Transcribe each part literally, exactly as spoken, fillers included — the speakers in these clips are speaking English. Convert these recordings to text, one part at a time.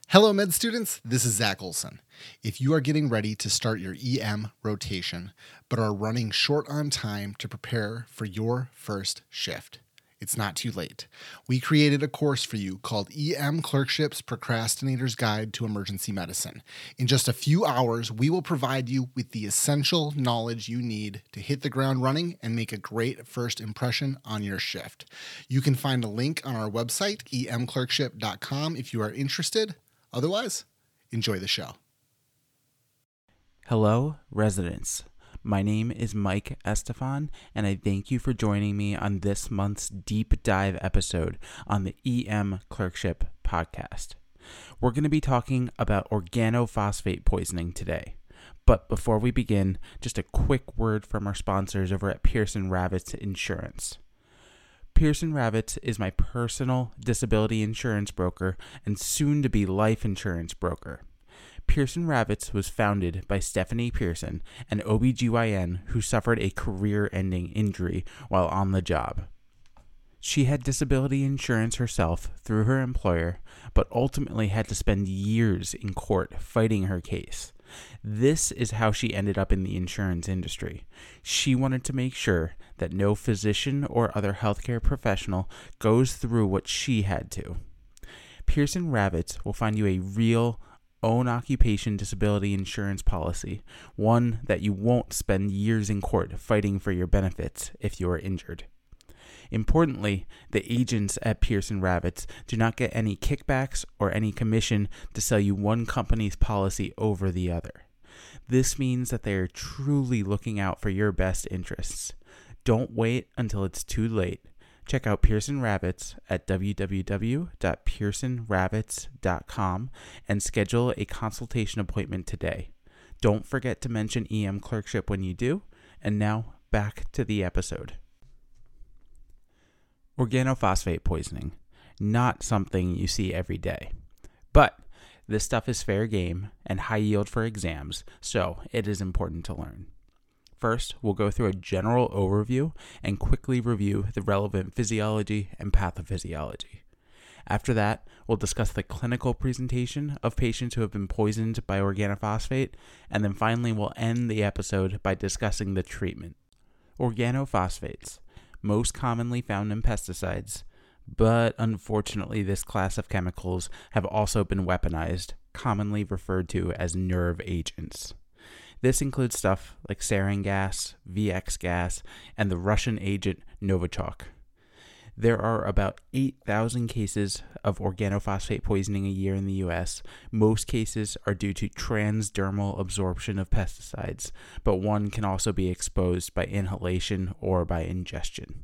Hello, med students. This is Zach Olson. If you are getting ready to start your E M rotation, but are running short on time to prepare for your first shift, it's not too late. We created a course for you called E M Clerkship's Procrastinator's Guide to Emergency Medicine. In just a few hours, we will provide you with the essential knowledge you need to hit the ground running and make a great first impression on your shift. You can find a link on our website, e m clerkship dot com, if you are interested. Otherwise, enjoy the show. Hello, residents. My name is Mike Estefan, and I thank you for joining me on this month's deep dive episode on the E M Clerkship podcast. We're going to be talking about organophosphate poisoning today. But before we begin, just a quick word from our sponsors over at Pearson Ravitz Insurance. Pearson Ravitz is my personal disability insurance broker and soon-to-be life insurance broker. Pearson Ravitz was founded by Stephanie Pearson, an O B G Y N who suffered a career-ending injury while on the job. She had disability insurance herself through her employer, but ultimately had to spend years in court fighting her case. This is how she ended up in the insurance industry. She wanted to make sure that no physician or other healthcare professional goes through what she had to. Pearson Ravitz will find you a real own occupation disability insurance policy, one that you won't spend years in court fighting for your benefits if you are injured. Importantly, the agents at Pearson Ravitz do not get any kickbacks or any commission to sell you one company's policy over the other. This means that they are truly looking out for your best interests. Don't wait until it's too late. Check out Pearson Ravitz at w w w dot pearson ravitz dot com and schedule a consultation appointment today. Don't forget to mention E M Clerkship when you do. And now, back to the episode. Organophosphate poisoning, not something you see every day. But this stuff is fair game and high yield for exams, so it is important to learn. First, we'll go through a general overview and quickly review the relevant physiology and pathophysiology. After that, we'll discuss the clinical presentation of patients who have been poisoned by organophosphate, and then finally we'll end the episode by discussing the treatment. Organophosphates, most commonly found in pesticides, but unfortunately this class of chemicals have also been weaponized, commonly referred to as nerve agents. This includes stuff like sarin gas, V X gas, and the Russian agent Novichok. There are about eight thousand cases of organophosphate poisoning a year in the U S. Most cases are due to transdermal absorption of pesticides, but one can also be exposed by inhalation or by ingestion.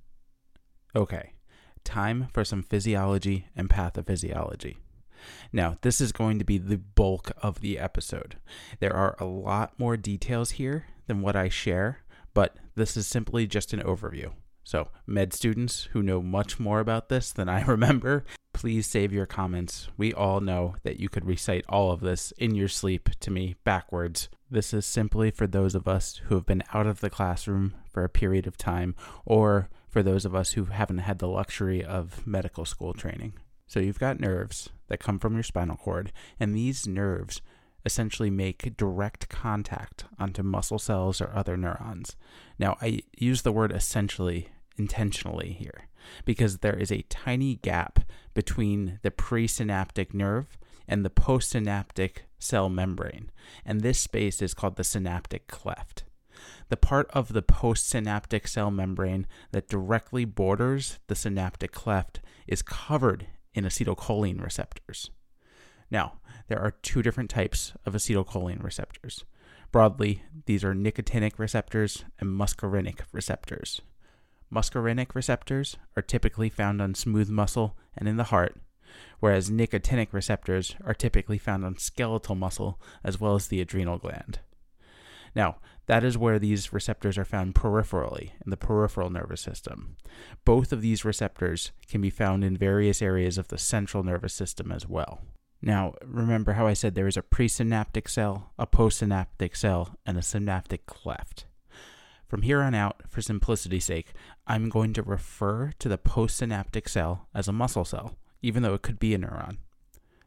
Okay, time for some physiology and pathophysiology. Now, this is going to be the bulk of the episode. There are a lot more details here than what I share, but this is simply just an overview. So, med students who know much more about this than I remember, please save your comments. We all know that you could recite all of this in your sleep to me backwards. This is simply for those of us who have been out of the classroom for a period of time, or for those of us who haven't had the luxury of medical school training. So you've got nerves that come from your spinal cord, and these nerves essentially make direct contact onto muscle cells or other neurons. Now, I use the word essentially intentionally here because there is a tiny gap between the presynaptic nerve and the postsynaptic cell membrane, and this space is called the synaptic cleft. The part of the postsynaptic cell membrane that directly borders the synaptic cleft is covered in acetylcholine receptors. Now, there are two different types of acetylcholine receptors. Broadly, these are nicotinic receptors and muscarinic receptors. Muscarinic receptors are typically found on smooth muscle and in the heart, whereas nicotinic receptors are typically found on skeletal muscle as well as the adrenal gland. Now, that is where these receptors are found peripherally in the peripheral nervous system. Both of these receptors can be found in various areas of the central nervous system as well. Now, remember how I said there is a presynaptic cell, a postsynaptic cell, and a synaptic cleft. From here on out, for simplicity's sake, I'm going to refer to the postsynaptic cell as a muscle cell, even though it could be a neuron.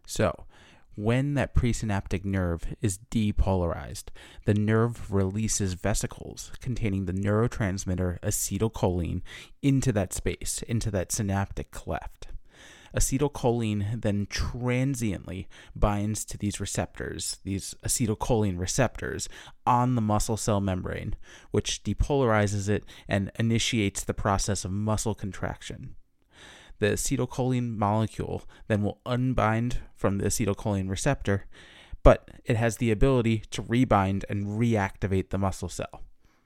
So, when that presynaptic nerve is depolarized, the nerve releases vesicles containing the neurotransmitter acetylcholine into that space, into that synaptic cleft. Acetylcholine then transiently binds to these receptors, these acetylcholine receptors on the muscle cell membrane, which depolarizes it and initiates the process of muscle contraction. The acetylcholine molecule then will unbind from the acetylcholine receptor, but it has the ability to rebind and reactivate the muscle cell.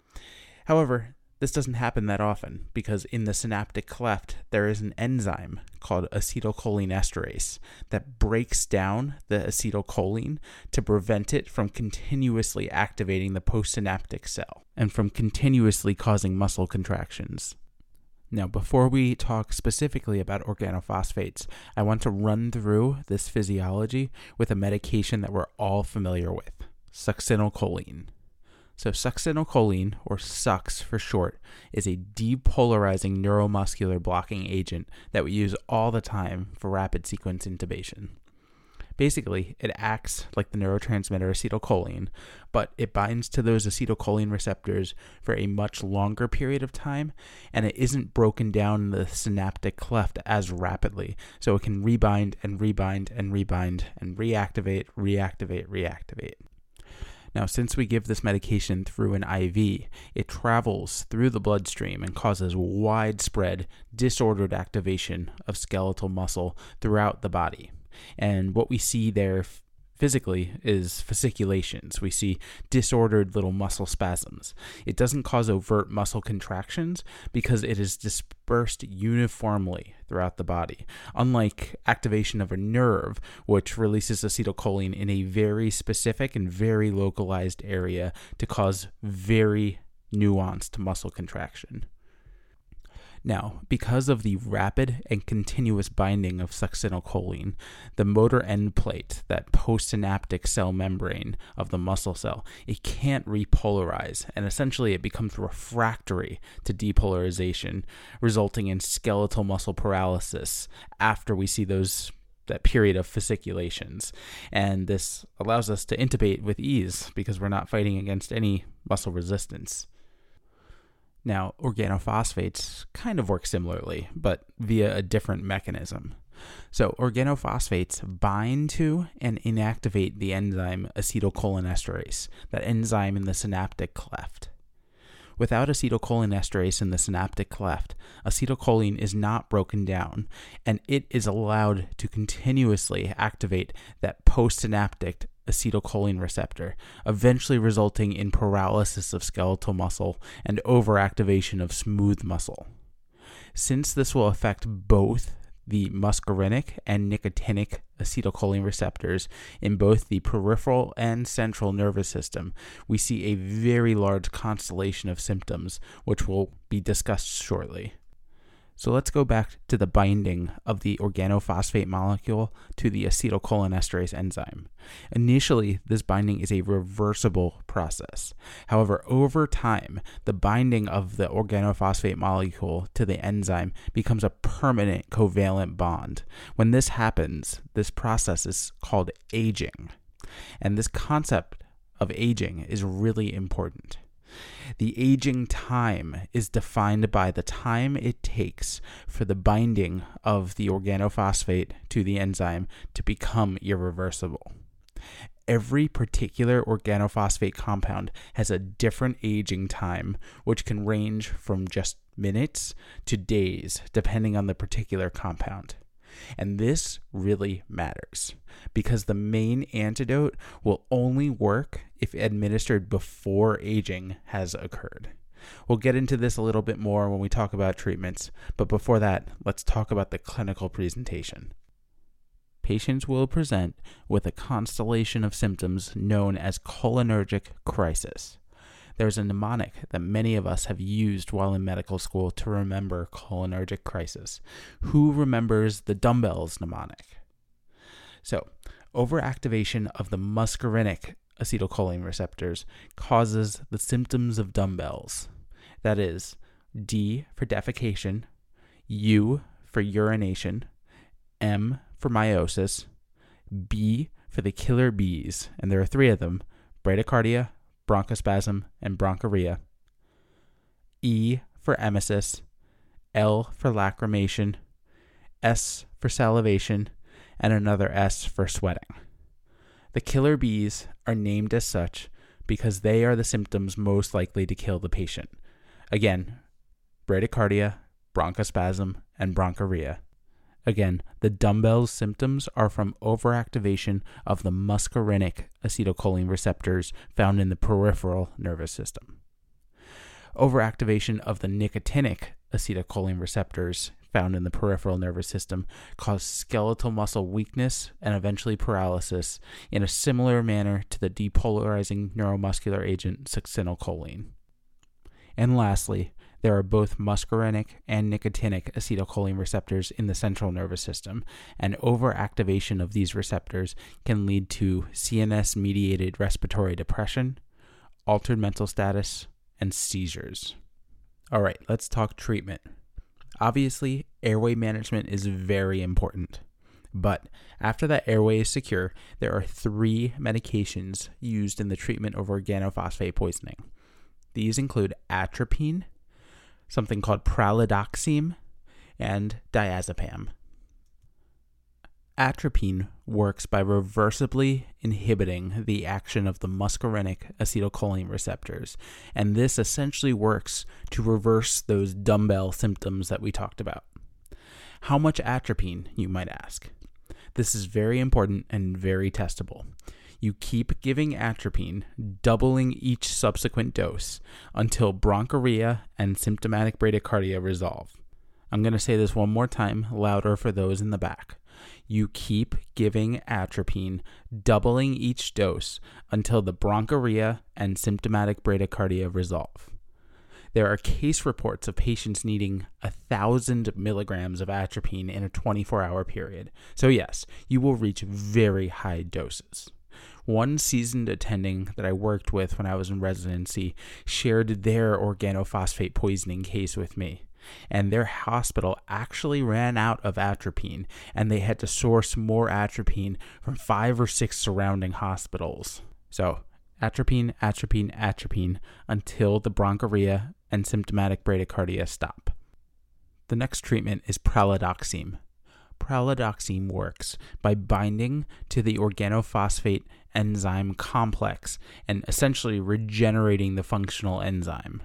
However, this doesn't happen that often because in the synaptic cleft, there is an enzyme called acetylcholinesterase that breaks down the acetylcholine to prevent it from continuously activating the postsynaptic cell and from continuously causing muscle contractions. Now, before we talk specifically about organophosphates, I want to run through this physiology with a medication that we're all familiar with, succinylcholine. So succinylcholine, or SUX for short, is a depolarizing neuromuscular blocking agent that we use all the time for rapid sequence intubation. Basically, it acts like the neurotransmitter acetylcholine, but it binds to those acetylcholine receptors for a much longer period of time, and it isn't broken down in the synaptic cleft as rapidly, so it can rebind and rebind and rebind and reactivate, reactivate, reactivate. Now, since we give this medication through an I V, it travels through the bloodstream and causes widespread, disordered activation of skeletal muscle throughout the body. And what we see there physically is fasciculations. We see disordered little muscle spasms. It doesn't cause overt muscle contractions because it is dispersed uniformly throughout the body, unlike activation of a nerve, which releases acetylcholine in a very specific and very localized area to cause very nuanced muscle contraction. Now, because of the rapid and continuous binding of succinylcholine, the motor end plate, that postsynaptic cell membrane of the muscle cell, it can't repolarize, and essentially it becomes refractory to depolarization, resulting in skeletal muscle paralysis after we see those that period of fasciculations. And this allows us to intubate with ease because we're not fighting against any muscle resistance. Now, organophosphates kind of work similarly, but via a different mechanism. So, organophosphates bind to and inactivate the enzyme acetylcholinesterase, that enzyme in the synaptic cleft. Without acetylcholinesterase in the synaptic cleft, acetylcholine is not broken down, and it is allowed to continuously activate that postsynaptic acetylcholine receptor, eventually resulting in paralysis of skeletal muscle and overactivation of smooth muscle. Since this will affect both the muscarinic and nicotinic acetylcholine receptors in both the peripheral and central nervous system, we see a very large constellation of symptoms, which will be discussed shortly. So let's go back to the binding of the organophosphate molecule to the acetylcholinesterase enzyme. Initially, this binding is a reversible process. However, over time, the binding of the organophosphate molecule to the enzyme becomes a permanent covalent bond. When this happens, this process is called aging. And this concept of aging is really important. The aging time is defined by the time it takes for the binding of the organophosphate to the enzyme to become irreversible. Every particular organophosphate compound has a different aging time, which can range from just minutes to days, depending on the particular compound. And this really matters because the main antidote will only work if administered before aging has occurred. We'll get into this a little bit more when we talk about treatments, but before that, let's talk about the clinical presentation. Patients will present with a constellation of symptoms known as cholinergic crisis. There's a mnemonic that many of us have used while in medical school to remember cholinergic crisis. Who remembers the dumbbells mnemonic? So, overactivation of the muscarinic acetylcholine receptors causes the symptoms of dumbbells. That is, D for defecation, U for urination, M for meiosis, B for the killer bees, and there are three of them: bradycardia, bronchospasm, and bronchorrhea. E for emesis, L for lacrimation, S for salivation, and another S for sweating. The killer bees are named as such because they are the symptoms most likely to kill the patient. Again, bradycardia, bronchospasm, and bronchorrhea. Again, the dumbbell symptoms are from overactivation of the muscarinic acetylcholine receptors found in the peripheral nervous system. Overactivation of the nicotinic acetylcholine receptors found in the peripheral nervous system cause skeletal muscle weakness and eventually paralysis in a similar manner to the depolarizing neuromuscular agent succinylcholine. And lastly, there are both muscarinic and nicotinic acetylcholine receptors in the central nervous system, and overactivation of these receptors can lead to C N S-mediated respiratory depression, altered mental status, and seizures. All right, let's talk treatment. Obviously, airway management is very important, but after that airway is secure, there are three medications used in the treatment of organophosphate poisoning. These include atropine, something called pralidoxime, and diazepam. Atropine works by reversibly inhibiting the action of the muscarinic acetylcholine receptors, and this essentially works to reverse those dumbbell symptoms that we talked about. How much atropine, you might ask? This is very important and very testable. You keep giving atropine, doubling each subsequent dose until bronchorrhea and symptomatic bradycardia resolve. I'm going to say this one more time, louder for those in the back. You keep giving atropine, doubling each dose until the bronchorrhea and symptomatic bradycardia resolve. There are case reports of patients needing one thousand milligrams of atropine in a twenty-four hour period. So yes, you will reach very high doses. One seasoned attending that I worked with when I was in residency shared their organophosphate poisoning case with me, and their hospital actually ran out of atropine, and they had to source more atropine from five or six surrounding hospitals. So, atropine, atropine, atropine until the bronchorrhea and symptomatic bradycardia stop. The next treatment is pralidoxime. Pralidoxime works by binding to the organophosphate enzyme complex and essentially regenerating the functional enzyme.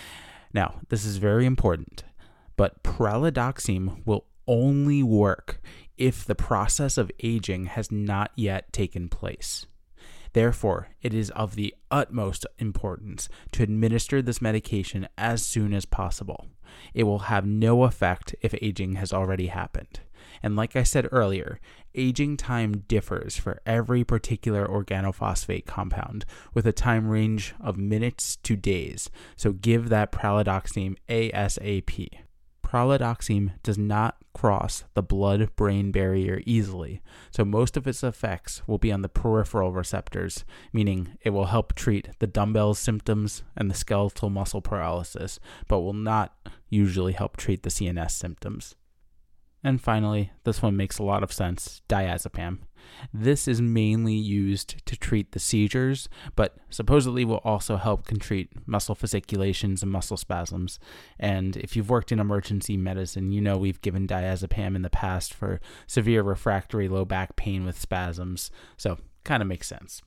Now, this is very important, but pralidoxime will only work if the process of aging has not yet taken place. Therefore, it is of the utmost importance to administer this medication as soon as possible. It will have no effect if aging has already happened. And like I said earlier, aging time differs for every particular organophosphate compound with a time range of minutes to days, so give that pralidoxime ASAP. Pralidoxime does not cross the blood-brain barrier easily, so most of its effects will be on the peripheral receptors, meaning it will help treat the dumbbell symptoms and the skeletal muscle paralysis, but will not usually help treat the C N S symptoms. And finally, this one makes a lot of sense, diazepam. This is mainly used to treat the seizures, but supposedly will also help can treat muscle fasciculations and muscle spasms. And if you've worked in emergency medicine, you know we've given diazepam in the past for severe refractory low back pain with spasms, so kind of makes sense.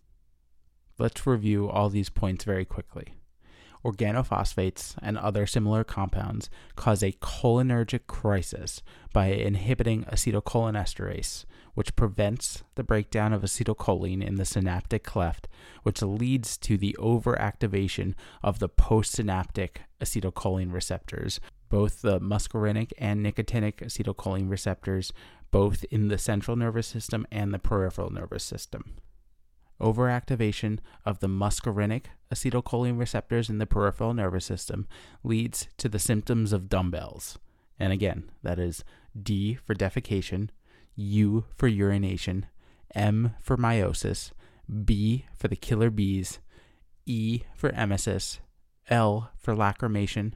Let's review all these points very quickly. Organophosphates and other similar compounds cause a cholinergic crisis by inhibiting acetylcholinesterase, which prevents the breakdown of acetylcholine in the synaptic cleft, which leads to the overactivation of the postsynaptic acetylcholine receptors, both the muscarinic and nicotinic acetylcholine receptors, both in the central nervous system and the peripheral nervous system. Overactivation of the muscarinic acetylcholine receptors in the peripheral nervous system leads to the symptoms of dumbbells. And again, that is D for defecation, U for urination, M for meiosis, B for the killer bees, E for emesis, L for lacrimation,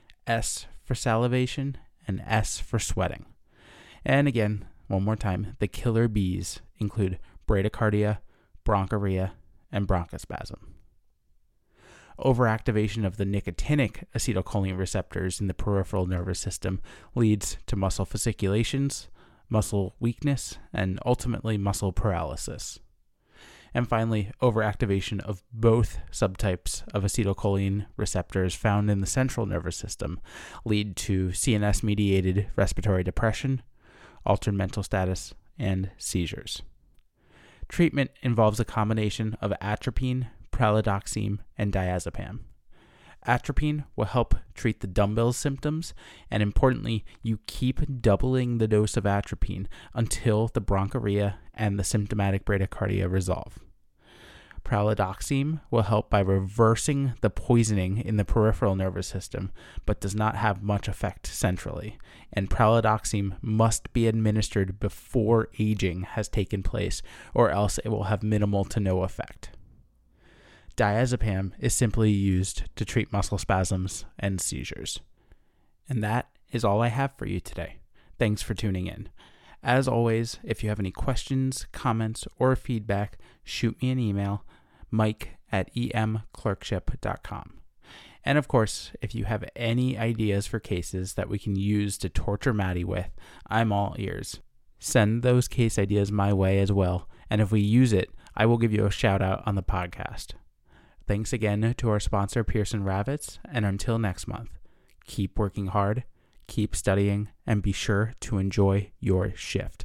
S for salivation, and S for sweating. And again, one more time, the killer bees include bradycardia, bronchorrhea, and bronchospasm. Overactivation of the nicotinic acetylcholine receptors in the peripheral nervous system leads to muscle fasciculations, muscle weakness, and ultimately muscle paralysis. And finally, overactivation of both subtypes of acetylcholine receptors found in the central nervous system lead to C N S-mediated respiratory depression, altered mental status, and seizures. Treatment involves a combination of atropine, pralidoxime, and diazepam. Atropine will help treat the dumbbell symptoms, and importantly, you keep doubling the dose of atropine until the bronchorrhea and the symptomatic bradycardia resolve. Pralidoxime will help by reversing the poisoning in the peripheral nervous system, but does not have much effect centrally, and pralidoxime must be administered before aging has taken place, or else it will have minimal to no effect. Diazepam is simply used to treat muscle spasms and seizures. And that is all I have for you today. Thanks for tuning in. As always, if you have any questions, comments, or feedback, shoot me an email, mike at e m clerkship dot com. And of course, if you have any ideas for cases that we can use to torture Maddie with, I'm all ears. Send those case ideas my way as well, and if we use it, I will give you a shout out on the podcast. Thanks again to our sponsor, Pearson Ravitz, and until next month, keep working hard, keep studying, and be sure to enjoy your shift.